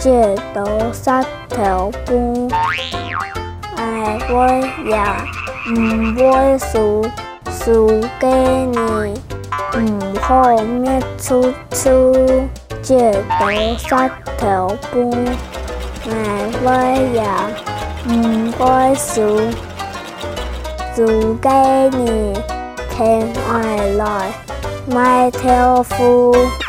借刀杀條半，愛會也唔會輸，輸給你唔好滅出處，借刀殺條半，愛會也唔會輸，輸給你聽愛來買條褲。